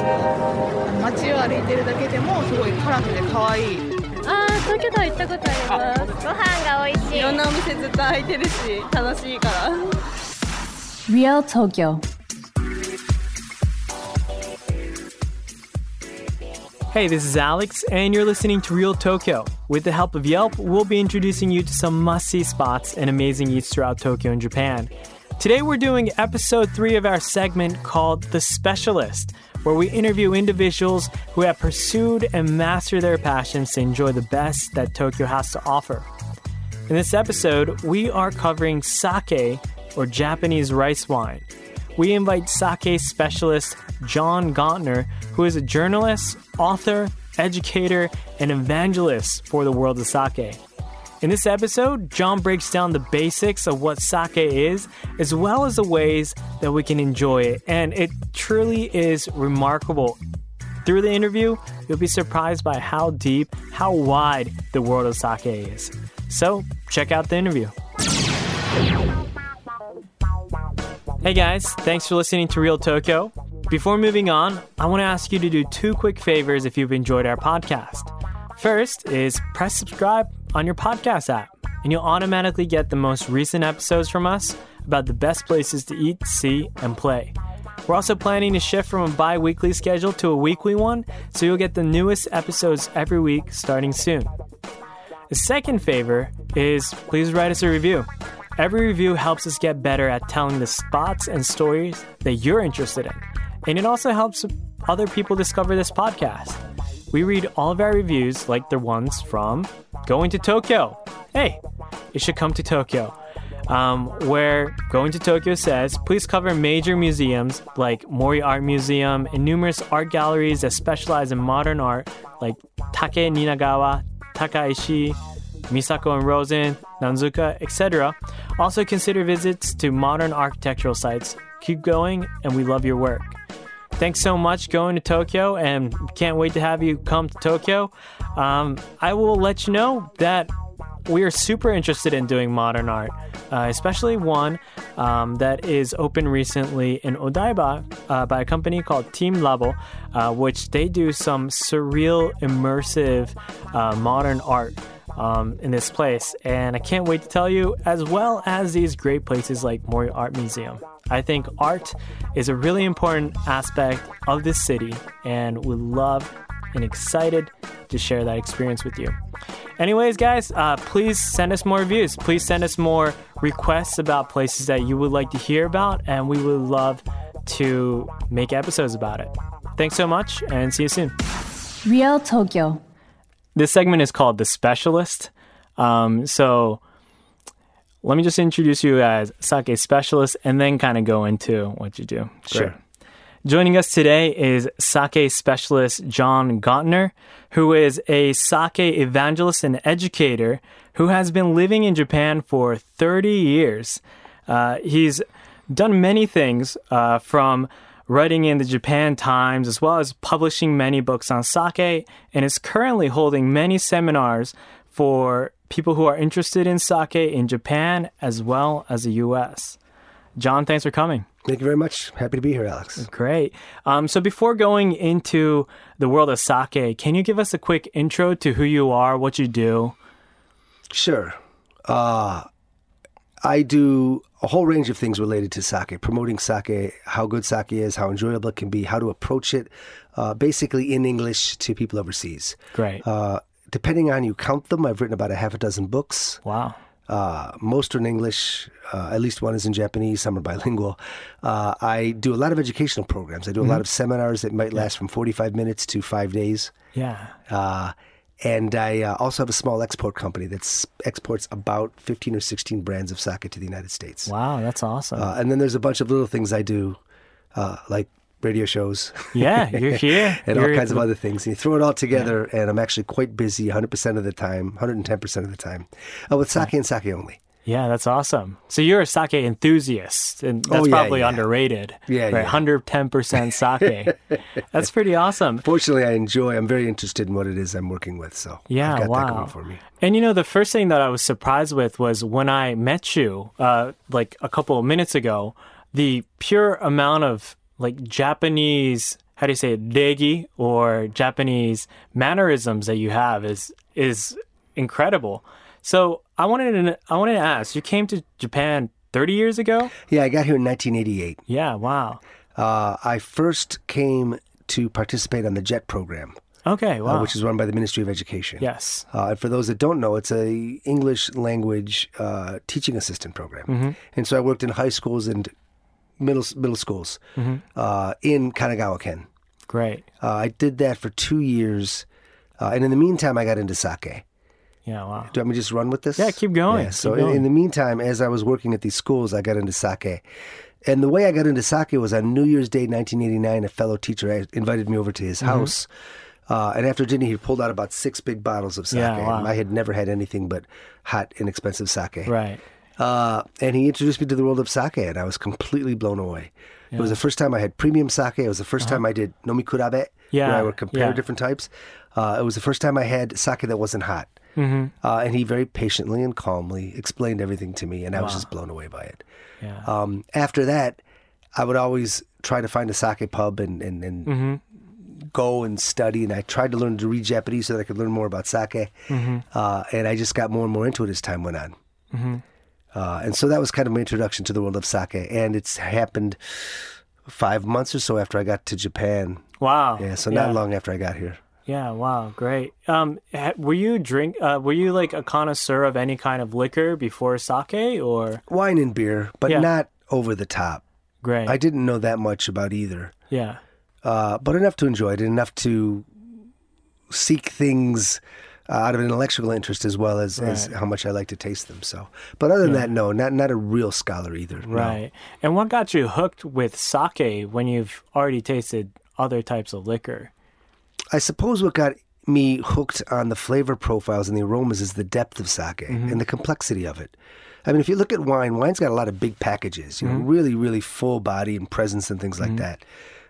街を歩いてるだけでもすごいカラフルで可愛い。 東京タワー行ったことあります。ご飯が美味しい。 いろんなお店ずっと開いてるし楽しいから。 Real Tokyo. Hey, this is Alex, and you're listening to Real Tokyo. With the help of Yelp, we'll be introducing you to some must-see spots and amazing eats throughout Tokyo and Japan. Today we're doing episode 3 of our segment called The Specialist, where we interview individuals who have pursued and mastered their passions to enjoy the best that Tokyo has to offer. In this episode, we are covering sake, or Japanese rice wine. We invite sake specialist John Gontner, who is a journalist, author, educator, and evangelist for the world of sake. In this episode, John breaks down the basics of what sake is, as well as the ways that we can enjoy it, and it truly is remarkable. Through the interview, you'll be surprised by how deep, how wide the world of sake is. So, check out the interview. Hey guys, thanks for listening to Real Tokyo. Before moving on, I want to ask you to do 2 quick favors if you've enjoyed our podcast. First is press subscribe on your podcast app, and you'll automatically get the most recent episodes from us about the best places to eat, see, and play. We're also planning to shift from a bi-weekly schedule to a weekly one, so you'll get the newest episodes every week starting soon. The second favor is please write us a review. Every review helps us get better at telling the spots and stories that you're interested in. And it also helps other people discover this podcast. We read all of our reviews like the ones from Going to Tokyo. Hey, you should come to Tokyo. Where Going to Tokyo says, please cover major museums like Mori Art Museum and numerous art galleries that specialize in modern art like Take Ninagawa, Takaishi, Misako and Rosen, Nanzuka, etc. Also consider visits to modern architectural sites. Keep going, and we love your work. Thanks so much going to Tokyo, and can't wait to have you come to Tokyo. I will let you know that we are super interested in doing modern art, especially one that is open recently in Odaiba by a company called Team Labo, which they do some surreal, immersive modern art in this place, and I can't wait to tell you, as well as these great places like Mori Art Museum. I think art is a really important aspect of this city, and we love and excited to share that experience with you. Anyways, guys, please send us more reviews. Please send us more requests about places that you would like to hear about, and we would love to make episodes about it. Thanks so much, and see you soon. Real Tokyo. This segment is called The Specialist. So let me just introduce you as sake specialist and then kind of go into what you do. Sure. Great. Joining us today is sake specialist John Gontner, who is a sake evangelist and educator who has been living in Japan for 30 years. He's done many things from writing in the Japan Times, as well as publishing many books on sake, and is currently holding many seminars for people who are interested in sake in Japan as well as the U.S. John, thanks for coming. Thank you very much. Happy to be here, Alex. Great. So before going into the world of sake, can you give us a quick intro to who you are, what you do? Sure. I do a whole range of things related to sake, promoting sake, how good sake is, how enjoyable it can be, how to approach it, basically in English to people overseas. Great. Depending on you count them, I've written about a half a dozen books. Wow. Most are in English. At least one is in Japanese. Some are bilingual. I do a lot of educational programs. I do a lot of seminars that might last from 45 minutes to 5 days. Yeah. And I also have a small export company that exports about 15 or 16 brands of sake to the United States. Wow, that's awesome. And then there's a bunch of little things I do, like radio shows. Yeah, you're here. And all kinds of other things. And you throw it all together, and I'm actually quite busy 100% of the time, 110% of the time, with sake and sake only. Yeah, that's awesome. So you're a sake enthusiast, and that's probably underrated. Yeah, right? 110% sake. That's pretty awesome. Fortunately, I'm very interested in what it is I'm working with, so yeah, I've got wow. that going for me. And you know, the first thing that I was surprised with was when I met you, like a couple of minutes ago, the pure amount of like Japanese how do you say it, regi, or Japanese mannerisms that you have is incredible. So I wanted to ask, you came to Japan 30 years ago? Yeah, I got here in 1988. Yeah, wow. I first came to participate on the JET program. Okay, wow. Which is run by the Ministry of Education. Yes. And for those that don't know, it's a English language teaching assistant program. And so I worked in high schools and middle schools in Kanagawa-ken. Great. I did that for 2 years. And in the meantime, I got into sake. Yeah, wow. Do you want me to just run with this? Yeah, keep going. Yeah, so Keep going. in the meantime, as I was working at these schools, I got into sake. And the way I got into sake was on New Year's Day, 1989, a fellow teacher invited me over to his house. And after dinner, he pulled out about 6 big bottles of sake. Yeah, wow. And I had never had anything but hot, inexpensive sake. Right. And he introduced me to the world of sake, and I was completely blown away. It was the first time I had premium sake. It was the first time I did nomikurabe, where I would compare different types. It was the first time I had sake that wasn't hot. And he very patiently and calmly explained everything to me, and I was just blown away by it. Yeah. After that, I would always try to find a sake pub and go and study, and I tried to learn to read Japanese so that I could learn more about sake. And I just got more and more into it as time went on. And so that was kind of my introduction to the world of sake, and it's happened 5 months or so after I got to Japan. Wow. Yeah, so not long after I got here. Yeah, wow, great. Were you like a connoisseur of any kind of liquor before sake, or? Wine and beer, but not over the top. Great. I didn't know that much about either. Yeah. But enough to enjoy it, enough to seek things out of an intellectual interest as well as how much I like to taste them. So, but other than that, no, not a real scholar either. Right. No. And what got you hooked with sake when you've already tasted other types of liquor? I suppose what got me hooked on the flavor profiles and the aromas is the depth of sake and the complexity of it. I mean, if you look at wine, wine's got a lot of big packages, you know, really, really full body and presence and things like that.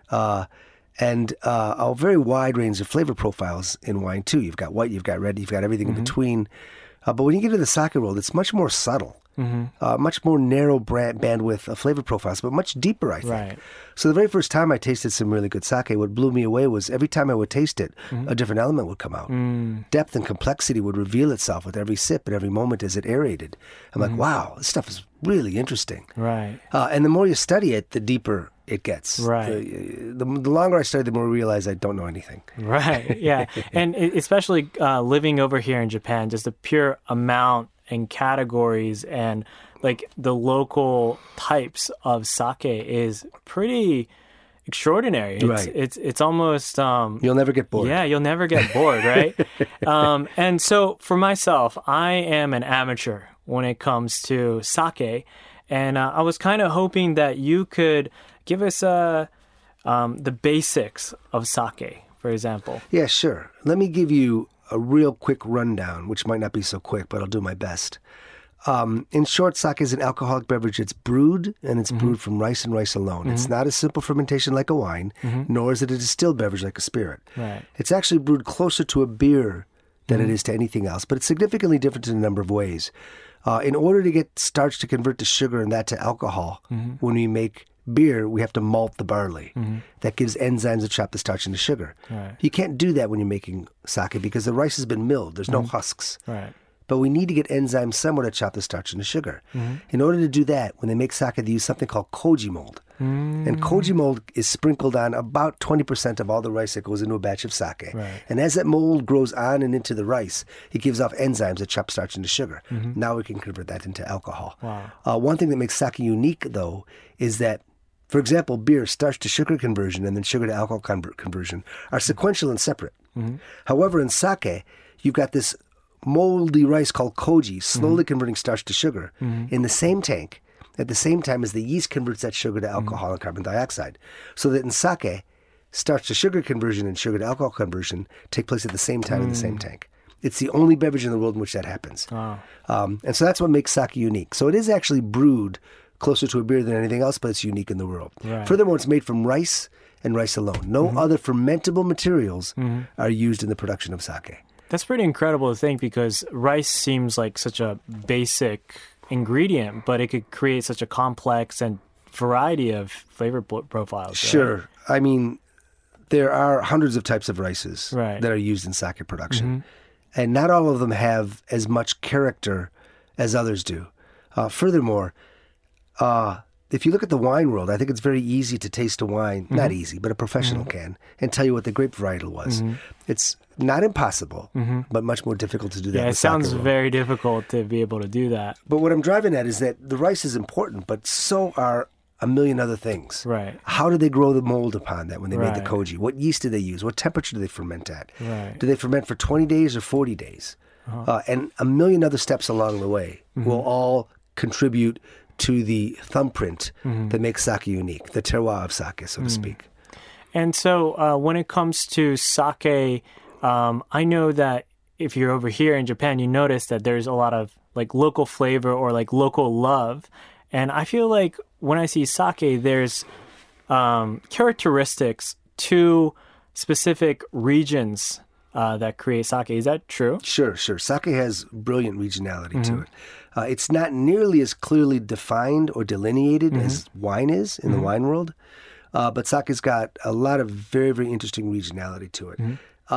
And a very wide range of flavor profiles in wine, too. You've got white, you've got red, you've got everything in between. But when you get to the sake world, it's much more subtle, much more narrow bandwidth of flavor profiles, but much deeper, I think. Right. So the very first time I tasted some really good sake, what blew me away was every time I would taste it, a different element would come out. Depth and complexity would reveal itself with every sip and every moment as it aerated. I'm like, wow, this stuff is really interesting. Right. And the more you study it, the deeper it gets. Right. The longer I study, the more I realize I don't know anything. Right. Yeah. And especially living over here in Japan, just the pure amount and categories and like the local types of sake is pretty extraordinary. It's almost you'll never get bored. Yeah, you'll never get bored, right? And so for myself, I am an amateur when it comes to sake, and I was kind of hoping that you could give us the basics of sake, for example. Yeah, sure. Let me give you a real quick rundown, which might not be so quick, but I'll do my best. In short, sake is an alcoholic beverage. It's brewed, and it's brewed from rice and rice alone. It's not a simple fermentation like a wine, nor is it a distilled beverage like a spirit. Right. It's actually brewed closer to a beer than it is to anything else, but it's significantly different in a number of ways. In order to get starch to convert to sugar and that to alcohol, when we make beer, we have to malt the barley. That gives enzymes that chop the starch into sugar. Right. You can't do that when you're making sake because the rice has been milled. There's no husks. Right. But we need to get enzymes somewhere to chop the starch into sugar. In order to do that, when they make sake, they use something called koji mold. And koji mold is sprinkled on about 20% of all the rice that goes into a batch of sake. Right. And as that mold grows on and into the rice, it gives off enzymes that chop starch into sugar. Now we can convert that into alcohol. Wow. One thing that makes sake unique, though, is that, for example, beer, starch to sugar conversion and then sugar to alcohol conversion are sequential and separate. However, in sake, you've got this moldy rice called koji slowly converting starch to sugar in the same tank at the same time as the yeast converts that sugar to alcohol and carbon dioxide. So that in sake, starch to sugar conversion and sugar to alcohol conversion take place at the same time in the same tank. It's the only beverage in the world in which that happens. Wow. And so that's what makes sake unique. So it is actually brewed closer to a beer than anything else, but it's unique in the world. Right. Furthermore, it's made from rice and rice alone. No other fermentable materials are used in the production of sake. That's pretty incredible to think because rice seems like such a basic ingredient, but it could create such a complex and variety of flavor profiles. Sure. Right? I mean, there are hundreds of types of rices Right. that are used in sake production. And not all of them have as much character as others do. Furthermore, if you look at the wine world, I think it's very easy to taste a wine, not easy, but a professional can, and tell you what the grape varietal was. It's not impossible, but much more difficult to do that. Yeah, in it the sake sounds world. very difficult to be able to do that. But what I'm driving at is that the rice is important, but so are a million other things. Right. How did they grow the mold upon that when they made the Right. koji? What yeast did they use? What temperature do they ferment at? Right. Do they ferment for 20 days or 40 days? And a million other steps along the way will all contribute to the thumbprint that makes sake unique, the terroir of sake, so to speak. And so when it comes to sake, I know that if you're over here in Japan, you notice that there's a lot of like local flavor or like local love. And I feel like when I see sake, there's characteristics to specific regions that create sake. Is that true? Sure. Sake has brilliant regionality to it. It's not nearly as clearly defined or delineated as wine is in the wine world, but sake's got a lot of very, very interesting regionality to it.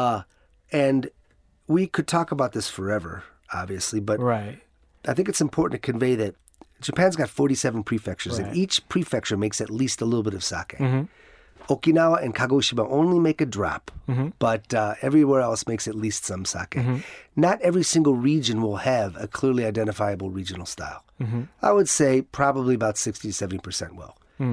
And we could talk about this forever, obviously, but Right. I think it's important to convey that Japan's got 47 prefectures, Right. and each prefecture makes at least a little bit of sake. Okinawa and Kagoshima only make a drop, but everywhere else makes at least some sake. Not every single region will have a clearly identifiable regional style. I would say probably about 60 to 70% will.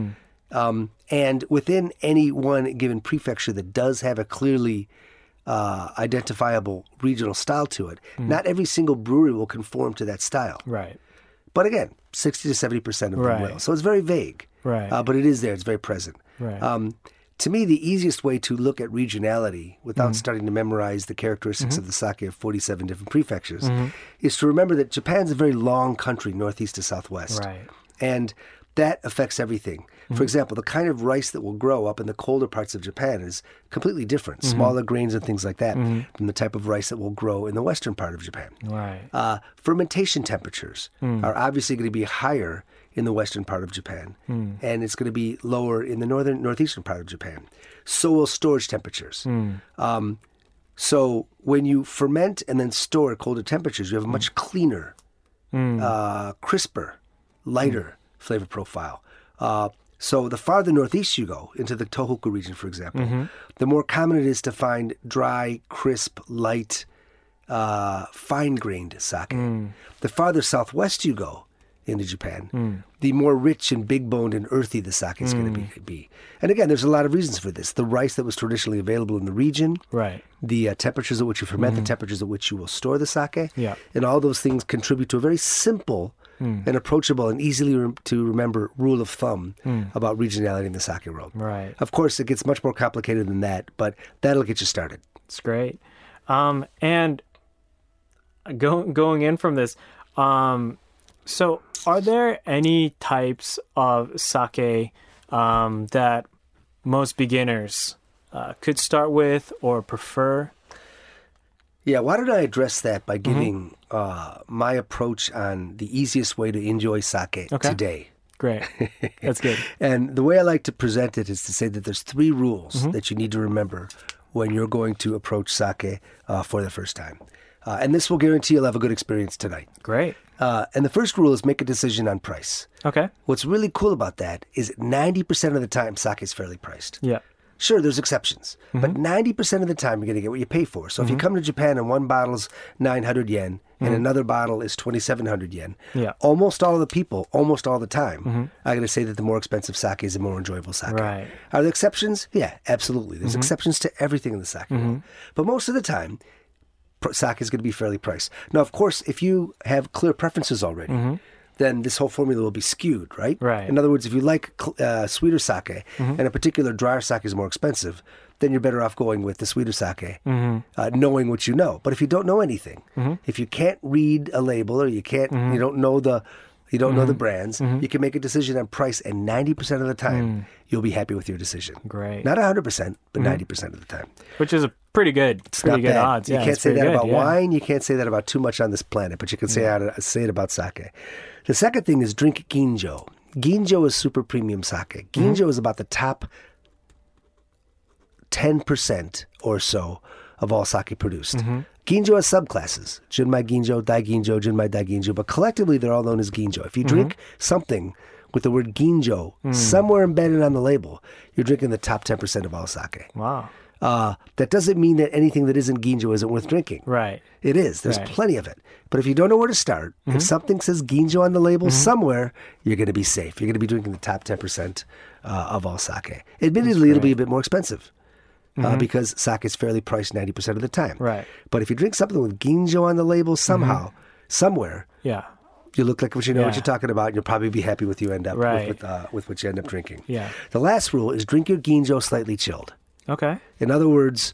And within any one given prefecture that does have a clearly identifiable regional style to it, not every single brewery will conform to that style. Right. But again, 60 to 70% of them Right. will. So it's very vague. Right. But it is there. It's very present. Right. To me, the easiest way to look at regionality without starting to memorize the characteristics of the sake of 47 different prefectures is to remember that Japan's a very long country, northeast to southwest. Right. And that affects everything. For example, the kind of rice that will grow up in the colder parts of Japan is completely different, smaller grains and things like that, from the type of rice that will grow in the western part of Japan. Right. Fermentation temperatures are obviously going to be higher in the western part of Japan, and it's going to be lower in the northeastern part of Japan. So will storage temperatures. So when you ferment and then store at colder temperatures, you have a much cleaner, crisper, lighter flavor profile. So the farther northeast you go, into the Tohoku region, for example, the more common it is to find dry, crisp, light, fine-grained sake. The farther southwest you go into Japan, the more rich and big-boned and earthy the sake is going to be. And again, there's a lot of reasons for this. The rice that was traditionally available in the region, Right. the temperatures at which you ferment, the temperatures at which you will store the sake, Yeah. and all those things contribute to a very simple and approachable and easily to remember rule of thumb about regionality in the sake world. Right. Of course, it gets much more complicated than that, but that'll get you started. It's great. And going in from this, so are there any types of sake that most beginners could start with or prefer? Yeah, why don't I address that by giving my approach on the easiest way to enjoy sake Okay. today. Great. That's good. And the way I like to present it is to say that there's 3 rules that you need to remember when you're going to approach sake for the first time. And this will guarantee you'll have a good experience tonight. Great. And the first rule is make a decision on price. Okay. What's really cool about that is 90% of the time sake is fairly priced. Yeah. Sure, there's exceptions, but 90% of the time you're going to get what you pay for. So if you come to Japan and one bottle's 900 yen and another bottle is 2,700 yen, Yeah. almost all of the people, almost all the time, are going to say that the more expensive sake is a more enjoyable sake. Right. Are there exceptions? Yeah, absolutely. There's exceptions to everything in the sake world. But most of the time, sake is going to be fairly priced. Now, of course, if you have clear preferences already, then this whole formula will be skewed, right? Right. In other words, if you like sweeter sake and a particular drier sake is more expensive, then you're better off going with the sweeter sake, knowing what you know. But if you don't know anything, if you can't read a label or you can't, you don't know the brands, you can make a decision on price, and 90% of the time, you'll be happy with your decision. Great. Not 100%, but 90% of the time. Which is a pretty good Not bad. odds. You Yeah, can't it's say pretty that good, about yeah. wine. You can't say that about too much on this planet, but you can say it about sake. The second thing is drink ginjo. Ginjo is super premium sake. Ginjo is about the top 10% or so of all sake produced. Ginjo has subclasses: Junmai Ginjo, Dai Ginjo, Junmai Dai Ginjo, but collectively they're all known as Ginjo. If you drink something with the word Ginjo somewhere embedded on the label, you're drinking the top 10% of all sake. Wow. That doesn't mean that anything that isn't Ginjo isn't worth drinking. Right. It is. There's Right. plenty of it. But if you don't know where to start, if something says Ginjo on the label somewhere, you're going to be safe. You're going to be drinking the top 10% of all sake. Admittedly, it'll be a bit more expensive because sake is fairly priced 90% of the time. Right. But if you drink something with Ginjo on the label somehow, somewhere, Yeah. you look like what you know what Yeah. you're talking about, and you'll probably be happy with you end up Right. with what you end up drinking. Yeah. The last rule is drink your Ginjo slightly chilled. Okay. In other words,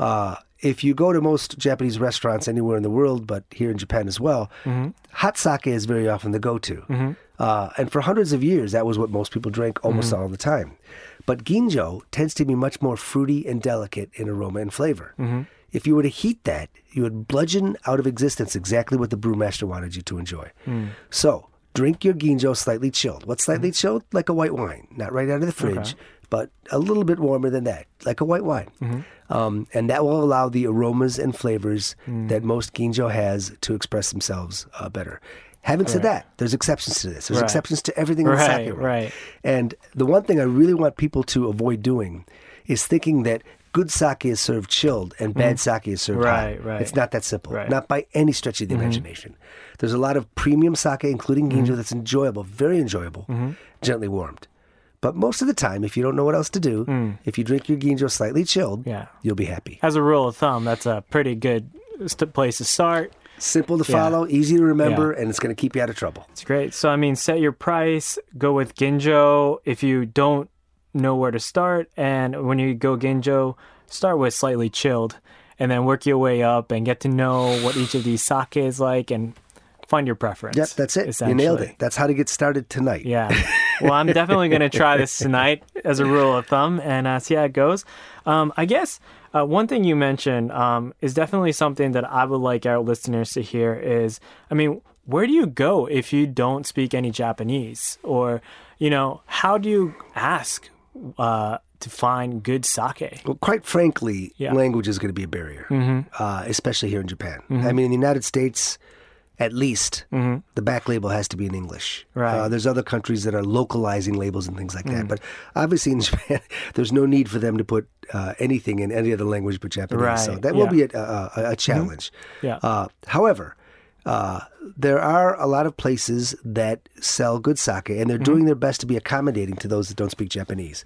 if you go to most Japanese restaurants anywhere in the world, but here in Japan as well, hot sake is very often the go-to. And for hundreds of years, that was what most people drank almost all the time. But Ginjo tends to be much more fruity and delicate in aroma and flavor. If you were to heat that, you would bludgeon out of existence exactly what the brewmaster wanted you to enjoy. So drink your Ginjo slightly chilled. What's slightly chilled? Like a white wine. Not right out of the fridge, but a little bit warmer than that, like a white wine. And that will allow the aromas and flavors that most Ginjo has to express themselves better. Having said that, there's exceptions to this. There's Right. exceptions to everything in the sake world. Right. And the one thing I really want people to avoid doing is thinking that good sake is served chilled and bad sake is served Right, hot. right. It's not that simple. Right. Not by any stretch of the imagination. There's a lot of premium sake, including Ginjo, that's enjoyable, very enjoyable, gently warmed. But most of the time, if you don't know what else to do, if you drink your Ginjo slightly chilled, Yeah. you'll be happy. As a rule of thumb, that's a pretty good place to start. Simple to follow, easy to remember, and it's going to keep you out of trouble. It's great. So, I mean, set your price, go with Ginjo if you don't know where to start. And when you go Ginjo, start with slightly chilled and then work your way up and get to know what each of these sake is like and find your preference. Yep, that's it. You nailed essentially. it. That's how to get started tonight. Yeah. Well, I'm definitely going to try this tonight as a rule of thumb and see how it goes. I guess one thing you mentioned is definitely something that I would like our listeners to hear is, I mean, where do you go if you don't speak any Japanese? Or, you know, how do you ask to find good sake? Well, quite frankly, Yeah. language is going to be a barrier, especially here in Japan. I mean, in the United States, at least, the back label has to be in English. Right. There's other countries that are localizing labels and things like that. But obviously in Japan, there's no need for them to put anything in any other language but Japanese. So Right, that will yeah. be a challenge. Yeah. However, there are a lot of places that sell good sake, and they're doing their best to be accommodating to those that don't speak Japanese.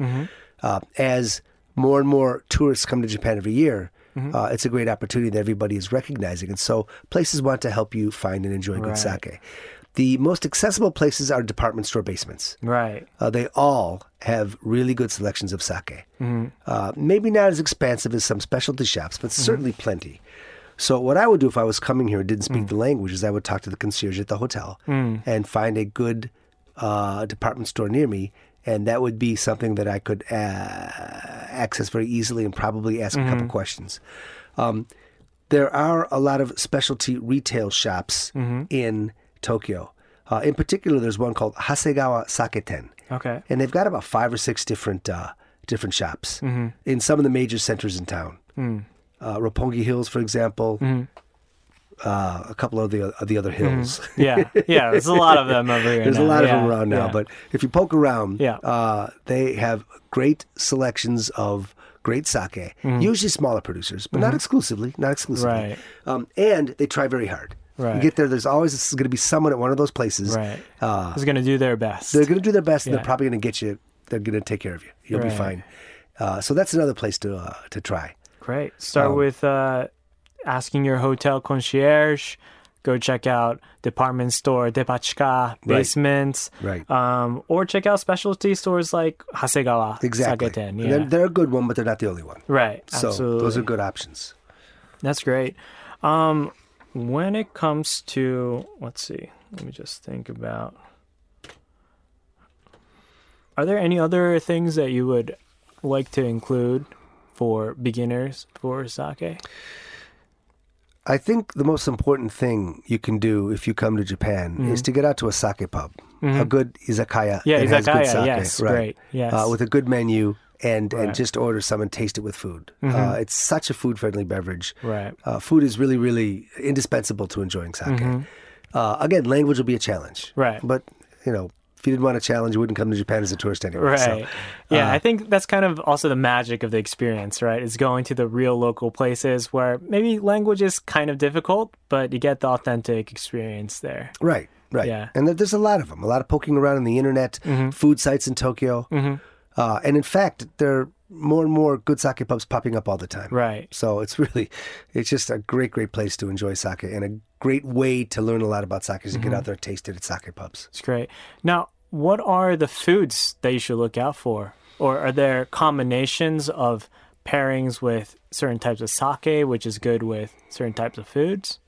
As more and more tourists come to Japan every year, it's a great opportunity that everybody is recognizing. And so places want to help you find and enjoy good Right. sake. The most accessible places are department store basements. Right. They all have really good selections of sake. Maybe not as expansive as some specialty shops, but certainly plenty. So what I would do if I was coming here and didn't speak the language is I would talk to the concierge at the hotel and find a good department store near me. And that would be something that I could access very easily and probably ask a couple questions. There are a lot of specialty retail shops in Tokyo. In particular, there's one called Hasegawa Saketen. Okay. And they've got about 5 or 6 different shops in some of the major centers in town. Roppongi Hills, for example. A couple of the other hills. Yeah. Yeah. There's a lot of them over here. There's a now. lot of Yeah, them around now. yeah. But if you poke around, Yeah. they have great selections of great sake. Usually smaller producers, but not exclusively. Not exclusively. Right. And they try very hard. You Right. get there, there's always going to be someone at one of those places. Right. Who's going to do their best. They're going to do their best, and Yeah. they're probably going to get you. They're going to take care of you. You'll be Right. fine. So that's another place to try. Great. Start with asking your hotel concierge. Go check out department store, depachika, basements. Right. Or check out specialty stores like Hasegawa Exactly. Saketen. And Yeah. they're a good one, but they're not the only one. Right. So Absolutely. those are good options. That's great. When it comes to, let's see, let me just think about. Are there any other things that you would like to include for beginners for sake? I think the most important thing you can do if you come to Japan is to get out to a sake pub, a good izakaya. Yeah, that has good izakaya, sake, yes, right. great, yes. With a good menu and Right. just order some and taste it with food. It's such a food-friendly beverage. Right. Food is really, really indispensable to enjoying sake. Again, language will be a challenge. Right. But, if you didn't want a challenge, you wouldn't come to Japan as a tourist anyway. Right. So, Yeah, I think that's kind of also the magic of the experience, right? Is going to the real local places where maybe language is kind of difficult, but you get the authentic experience there. right. Yeah. And there's a lot of them, a lot of poking around on the internet, food sites in Tokyo. And in fact, there are more and more good sake pubs popping up all the time. Right. So it's just a great, great place to enjoy sake and a great way to learn a lot about sake is to get out there and taste it at sake pubs. It's great. Now, what are the foods that you should look out for? Or are there combinations of pairings with certain types of sake, which is good with certain types of foods?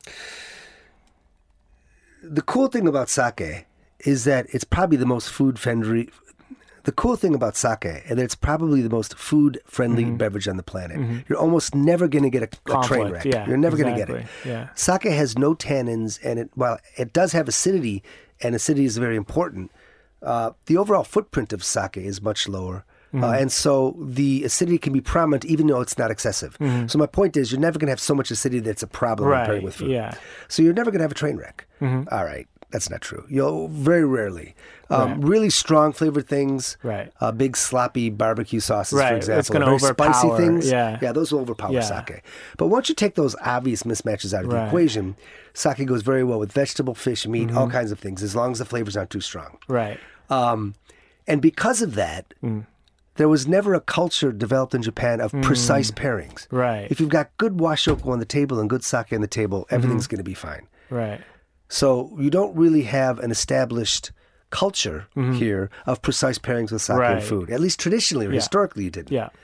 The cool thing about sake is that it's probably the most food-friendly. The cool thing about sake is that it's probably the most food-friendly beverage on the planet. You're almost never going to get a train Conflict, wreck. yeah, You're never going to get it. exactly, yeah. Sake has no tannins, and while it does have acidity, and acidity is very important, the overall footprint of sake is much lower. And so the acidity can be prominent even though it's not excessive. So my point is you're never going to have so much acidity that's a problem when pairing with food. Yeah. So you're never going to have a train wreck. All right. That's not true. You'll very rarely. Really strong flavored things. Right. Big sloppy barbecue sauces, Right. for example. It's gonna very spicy overpower, things. yeah. Those will overpower Yeah. sake. But once you take those obvious mismatches out of the Right. equation, sake goes very well with vegetable, fish, meat, all kinds of things, as long as the flavors aren't too strong. Right. And because of that, there was never a culture developed in Japan of precise pairings. Right. If you've got good washoko on the table and good sake on the table, everything's going to be fine. Right. So you don't really have an established culture here of precise pairings with sake Right. and food. At least traditionally or historically you didn't. Yeah.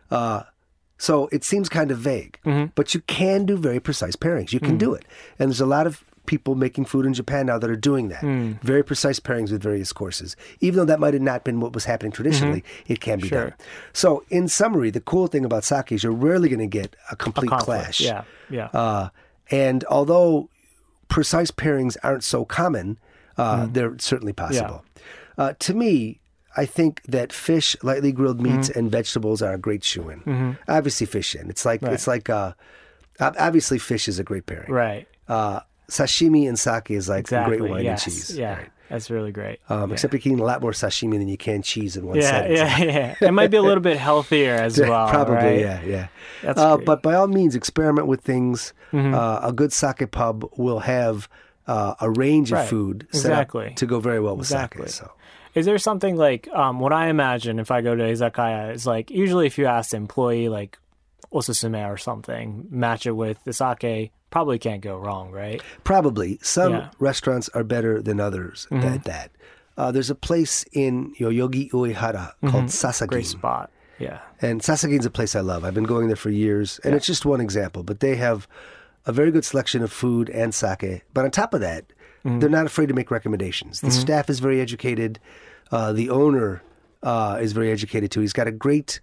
So it seems kind of vague. But you can do very precise pairings. You can do it. And there's a lot of people making food in Japan now that are doing that. Very precise pairings with various courses. Even though that might have not been what was happening traditionally, it can be Sure. done. So in summary, the cool thing about sake is you're rarely going to get a complete Conflict. clash. Yeah. Yeah. And although precise pairings aren't so common, they're certainly possible. To me, I think that fish, lightly grilled meats, and vegetables are a great shoo-in. Obviously, fish in. It's like obviously fish is a great pairing. Right. Sashimi and sake is like Exactly. great wine yes. and cheese. Yeah. Right? That's really great. Except you're eating a lot more sashimi than you can cheese in one Yeah. setting. Yeah. It might be a little bit healthier as well. Probably, right? yeah. That's great. But by all means, experiment with things. A good sake pub will have a range of Right. food set up Exactly. to go very well with Exactly. sake. So. Is there something like what I imagine if I go to izakaya is like usually if you ask the employee like osusume or something, match it with the sake, probably can't go wrong, right? Probably. Some Yeah. restaurants are better than others at that. There's a place in Yoyogi Uehara called Sasagin. Great spot. Yeah. And Sasagin's a place I love. I've been going there for years. And it's just one example. But they have a very good selection of food and sake. But on top of that, they're not afraid to make recommendations. The staff is very educated. The owner is very educated too. He's got a great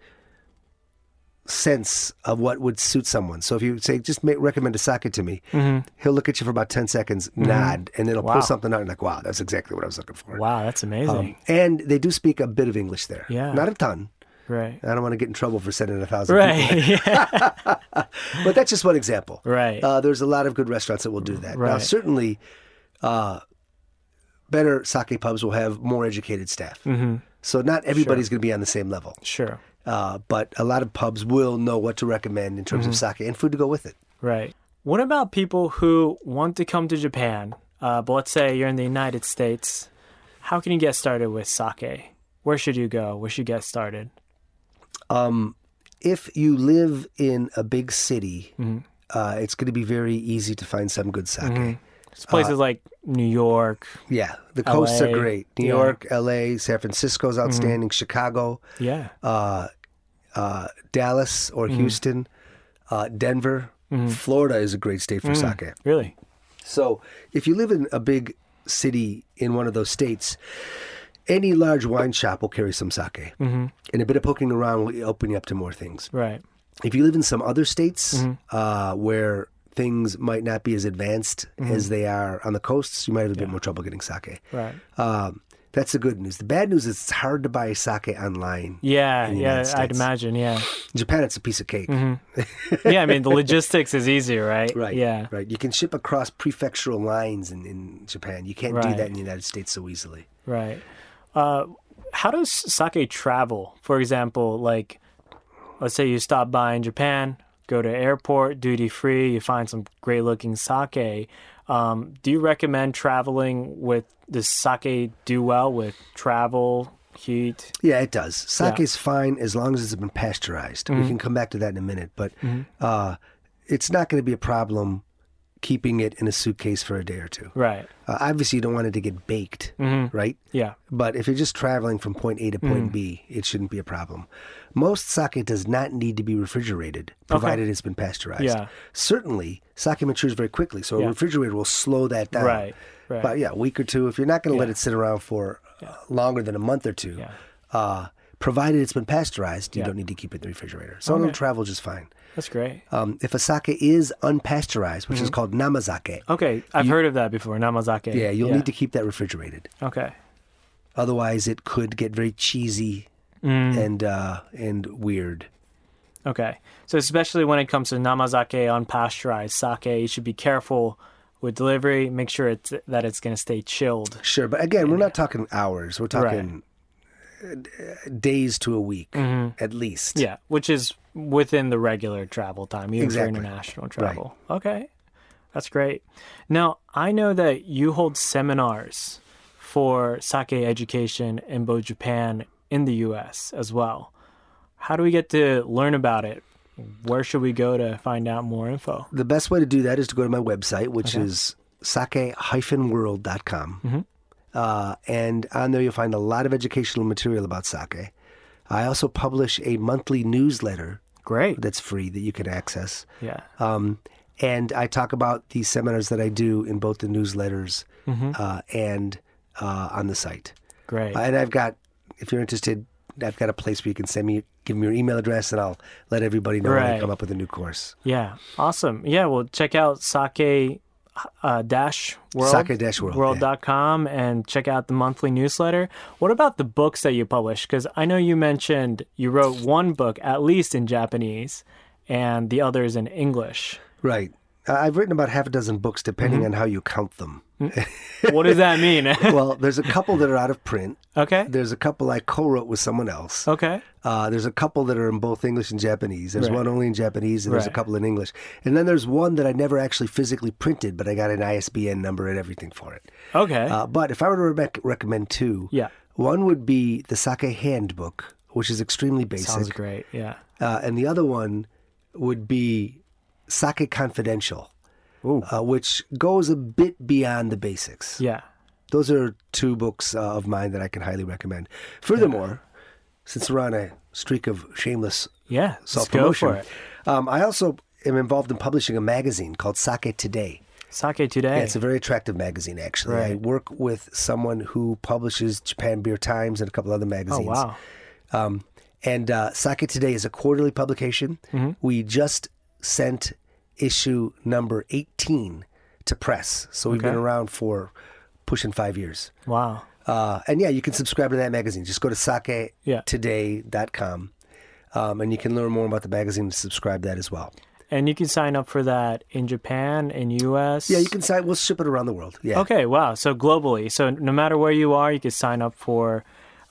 sense of what would suit someone. So if you say, just recommend a sake to me, he'll look at you for about 10 seconds, nod, and then he'll Wow. pull something out and like, wow, that's exactly what I was looking for. Wow, that's amazing. And they do speak a bit of English there. Yeah. Not a ton. right. I don't want to get in trouble for sending 1,000 people. Right. Yeah. But that's just one example. Right. There's a lot of good restaurants that will do that. Now, Right. certainly, better sake pubs will have more educated staff. So not everybody's going to be on the same level. Sure. But a lot of pubs will know what to recommend in terms of sake and food to go with it. Right. What about people who want to come to Japan, but let's say you're in the United States? How can you get started with sake? Where should you go? Where should you get started? If you live in a big city, it's going to be very easy to find some good sake. It's places like New York. Yeah, the coasts are LA. great. New Yeah. York, LA, San Francisco's outstanding, Chicago, Yeah. Dallas or Houston, Denver. Florida is a great state for sake. Really? So if you live in a big city in one of those states, any large wine shop will carry some sake. And a bit of poking around will open you up to more things. Right. If you live in some other states where things might not be as advanced as they are on the coasts, you might have a bit more trouble getting sake. Right. That's the good news. The bad news is it's hard to buy sake online. Yeah, in the yeah, United I'd States. imagine, yeah. In Japan, it's a piece of cake. Yeah, I mean, the logistics is easier, right? Right. Yeah. Right. You can ship across prefectural lines in Japan. You can't do Right. that in the United States so easily. Right. How does sake travel? For example, like, let's say you stop by in Japan, go to airport, duty free, you find some great looking sake. Do you recommend traveling with does sake do well with travel, heat? Yeah, it does. Sake is fine as long as it's been pasteurized. We can come back to that in a minute, but it's not going to be a problem keeping it in a suitcase for a day or two. Right. Obviously, you don't want it to get baked, right? Yeah. But if you're just traveling from point A to point B, it shouldn't be a problem. Most sake does not need to be refrigerated, provided it's been pasteurized. Yeah. Certainly, sake matures very quickly, so a refrigerator will slow that down. Right. Right. But yeah, a week or two. If you're not going to let it sit around for longer than a month or two, provided it's been pasteurized, you don't need to keep it in the refrigerator. So it'll travel just fine. That's great. If a sake is unpasteurized, which is called namazake, Okay, I've heard of that before, namazake. yeah, you'll need to keep that refrigerated. Okay. Otherwise, it could get very cheesy and weird. Okay. So especially when it comes to namazake, unpasteurized sake, you should be careful with delivery. Make sure that it's going to stay chilled. Sure, but again, we're not talking hours. We're talking days to a week, at least. Yeah, which is within the regular travel time, even Exactly. for international travel. Okay, that's great. Now, I know that you hold seminars for sake education in both Japan and the U.S. as well. How do we get to learn about it? Where should we go to find out more info? The best way to do that is to go to my website, which is sake-world.com. And on there, you'll find a lot of educational material about sake. I also publish a monthly newsletter Great. that's free that you can access. Yeah. And I talk about these seminars that I do in both the newsletters and on the site. Great. And I've got, if you're interested, I've got a place where you can give me your email address, and I'll let everybody know when I Right. come up with a new course. Yeah. Awesome. Yeah. Well, check out sake-world. Sake-world, World.com and check out the monthly newsletter. What about the books that you publish? Because I know you mentioned you wrote one book, at least in Japanese, and the others in English. Right. I've written about half a dozen books, depending on how you count them. What does that mean? Well, there's a couple that are out of print. Okay. There's a couple I co-wrote with someone else. Okay. There's a couple that are in both English and Japanese. There's Right. one only in Japanese, and there's a Right. couple in English. And then there's one that I never actually physically printed, but I got an ISBN number and everything for it. Okay. But if I were to recommend two, Yeah. one would be the Sake Handbook, which is extremely basic. Sounds great. Yeah. And the other one would be Sake Confidential, which goes a bit beyond the basics. Yeah. Those are two books of mine that I can highly recommend. Furthermore, since we're on a streak of shameless Yeah. Let's go self-promotion, for it. I also am involved in publishing a magazine called Sake Today. Sake Today. Yeah, it's a very attractive magazine, actually. I Right. work with someone who publishes Japan Beer Times and a couple other Oh, magazines. wow. And Sake Today is a quarterly publication. We just sent issue number 18 to press. So we've been Okay. around for pushing 5 years. Wow. And yeah, you can subscribe to that magazine. Just go to saketoday.com and you can learn more about the magazine and subscribe to that as well. And you can sign up for that in Japan, in U.S.? Yeah, you can sign. We'll ship it around the world. Yeah. Okay, wow. So globally. So no matter where you are, you can sign up for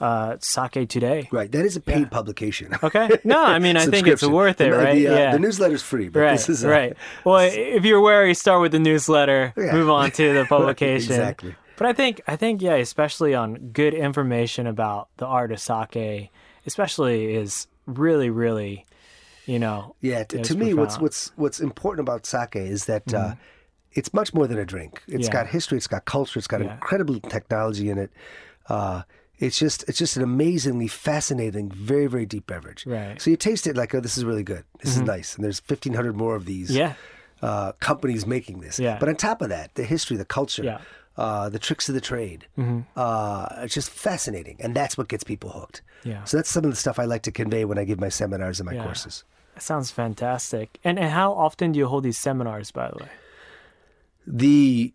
Sake Today. Right. That is a paid publication. Okay. No, I mean, I think it's Subscription. worth it, right? The newsletter's free, but Right, this is right. Well, if you're wary, start with the newsletter, Yeah. move on to the publication. Exactly. But I think, yeah, especially on good information about the art of sake, especially is really, really, Yeah, it's to me, profound. what's important about sake is that it's much more than a drink. It's Yeah. got history, it's got culture, it's got Yeah. incredible technology in it. It's just an amazingly fascinating, very, very deep beverage. Right. So you taste it like, oh, this is really good. This is nice. And there's 1,500 more of these Yeah. companies making this. Yeah. But on top of that, the history, the culture, Yeah. the tricks of the trade, it's just fascinating. And that's what gets people hooked. Yeah. So that's some of the stuff I like to convey when I give my seminars and my Yeah. courses. That sounds fantastic. And how often do you hold these seminars, by the way? The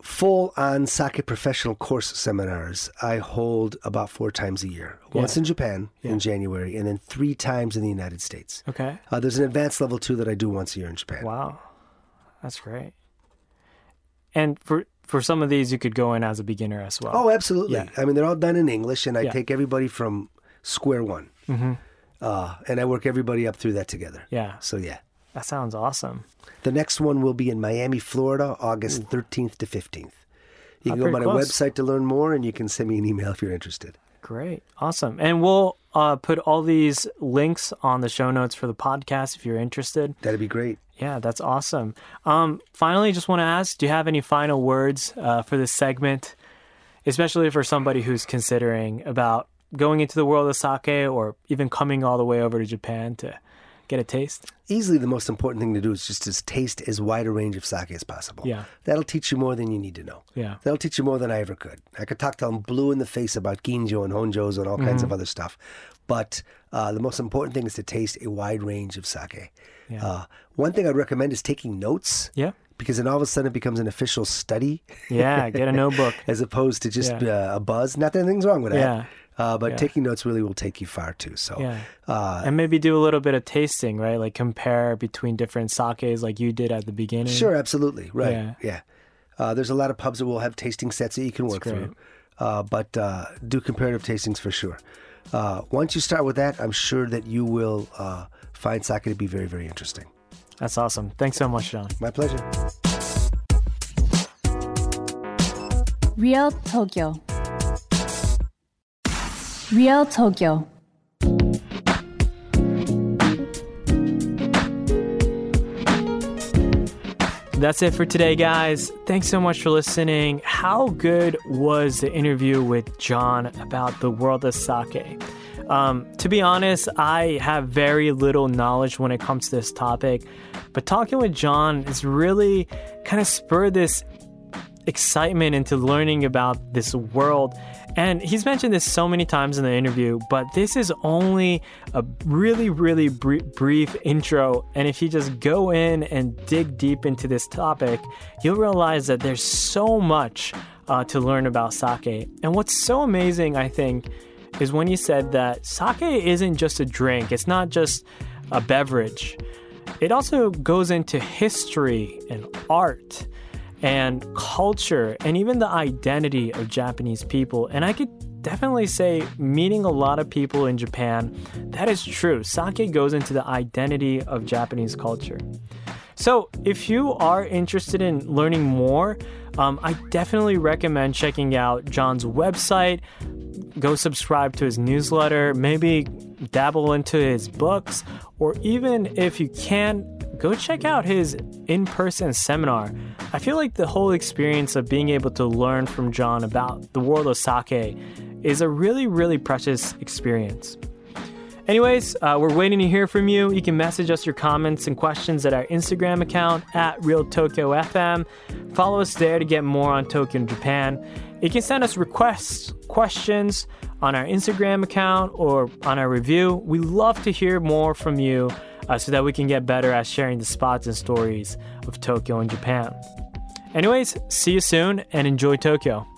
full-on sake professional course seminars I hold about 4 times a year. Once in Japan in January, and then 3 times in the United States. Okay. There's an advanced level 2 that I do once a year in Japan. Wow. That's great. And for some of these, you could go in as a beginner as well. Oh, absolutely. Yeah. I mean, they're all done in English, and I take everybody from square one. Mm-hmm. And I work everybody up through that together. Yeah. So, yeah. That sounds awesome. The next one will be in Miami, Florida, August 13th to 15th. You can go to my website to learn more, and you can send me an email if you're interested. Great. Awesome. And we'll put all these links on the show notes for the podcast if you're interested. That'd be great. Yeah, that's awesome. Finally, just want to ask, do you have any final words for this segment, especially for somebody who's considering about going into the world of sake or even coming all the way over to Japan to get a taste? Easily the most important thing to do is just to taste as wide a range of sake as possible. Yeah. That'll teach you more than you need to know. Yeah. That'll teach you more than I ever could. I could talk till I'm blue in the face about ginjo and honjos and all kinds of other stuff. But the most important thing is to taste a wide range of sake. Yeah. One thing I'd recommend is taking notes. Yeah. Because then all of a sudden it becomes an official study. Yeah, get a notebook. As opposed to just a buzz. Not that anything's wrong with that. Yeah. But taking notes really will take you far too. So, and maybe do a little bit of tasting, right? Like compare between different sakes like you did at the beginning. Sure, absolutely. Right. Yeah. There's a lot of pubs that will have tasting sets that you can work through. But do comparative tastings for sure. Once you start with that, I'm sure that you will find sake to be very, very interesting. That's awesome. Thanks so much, John. My pleasure. Real Tokyo. Real Tokyo. That's it for today, guys. Thanks so much for listening. How good was the interview with John about the world of sake? To be honest, I have very little knowledge when it comes to this topic, but talking with John has really kind of spurred this excitement into learning about this world. And he's mentioned this so many times in the interview, but this is only a really, really brief intro. And if you just go in and dig deep into this topic, you'll realize that there's so much to learn about sake. And what's so amazing, I think, is when he said that sake isn't just a drink. It's not just a beverage. It also goes into history and art and culture and even the identity of Japanese people. And I could definitely say, meeting a lot of people in Japan, that is true. Sake goes into the identity of Japanese culture. So if you are interested in learning more, I definitely recommend checking out John's website. Go subscribe to his newsletter, maybe dabble into his books, or even if you can, go check out his in-person seminar. I feel like the whole experience of being able to learn from John about the world of sake is a really, really precious experience. Anyways, we're waiting to hear from you. You can message us your comments and questions at our Instagram account at RealTokyoFM. Follow us there to get more on Tokyo and Japan. You can send us requests, questions on our Instagram account or on our review. We love to hear more from you so that we can get better at sharing the spots and stories of Tokyo and Japan. Anyways, see you soon and enjoy Tokyo.